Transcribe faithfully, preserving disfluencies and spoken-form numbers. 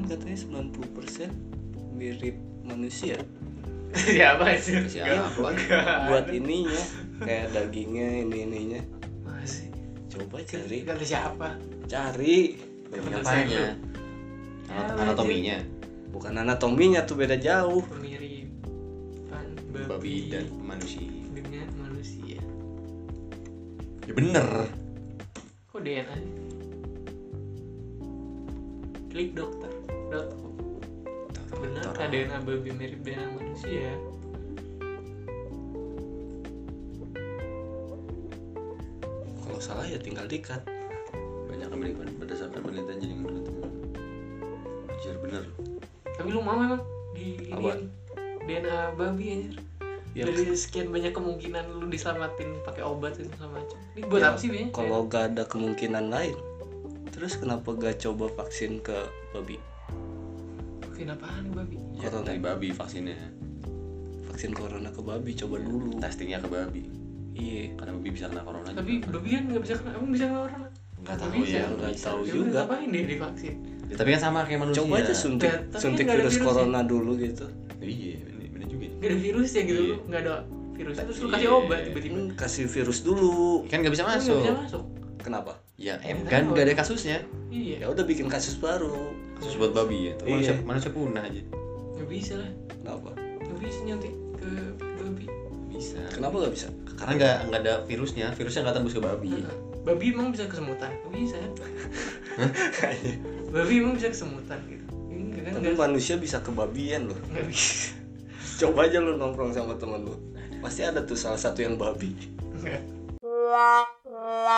katanya sembilan puluh persen mirip manusia. Siapa sih? Siapa? Buat ininya kayak dagingnya ini ininya. Masih. Coba cari. Kata siapa? Cari. Apanya? Anat- anatominya. Bukan anatominya tuh beda jauh. Pemiripan Babi babi dan manusia. dengan manusia. Ya bener. Kok D N A? Klik dokter dot com. Benar kan D N A babi mirip D N A manusia? Kalau salah ya tinggal dikat. Banyak kemiripan berdasarkan penelitian jadi menurut teman. Anjir bener. Tapi lu mau emang di Apa? ini D N A babi anjir. Ya, Dari sekian banyak kemungkinan lu diselamatin pakai obat itu sama macam. Ini buat ya, apa sih biasanya? kalau gak ada kemungkinan lain, terus kenapa gak coba vaksin ke babi? Vaksin apaan babi? Ya Corona. dari babi vaksinnya. Vaksin corona ke babi coba dulu. Testingnya ke babi. Iya. Karena babi bisa kena corona. Tapi babi kan nggak bisa kena, emang bisa kena orang? Nggak Nggak tahu bisa. ya. Nggak bisa. tahu Ya juga. udah, ngapain dia divaksin? Ya, tapi kan sama kayak manusia. Coba aja suntik, Tapi kan suntik nggak ada virus virusnya. corona dulu gitu. Iya, bener, bener juga. Gak ada virusnya gitu, Iya. lu nggak ada virusnya terus lu Iya. kasih obat tiba-tiba. Hmm, kasih virus dulu. Kan nggak bisa Kan nggak masuk. bisa masuk. Kenapa? Ya Ya, em kan tahu. nggak ada kasusnya. Iya. Ya udah bikin kasus baru. Kasus buat babi ya. Tuh, Iya. manusia manusia punah aja. Nggak bisa lah. Kenapa? Nggak bisa nyuntik ke babi. Bisa. Kenapa gak bisa? Karena nggak nggak ada virusnya. Virusnya nggak tembus ke babi. Nah, babi emang bisa kesemutan? Nggak bisa. Babi emang bisa kesemutan gitu. Enggak kan? Tapi Nggak manusia bisa kebabian loh. nggak bisa. Coba aja lu nongkrong sama temen lu. Pasti ada tuh salah satu yang babi. Nggak.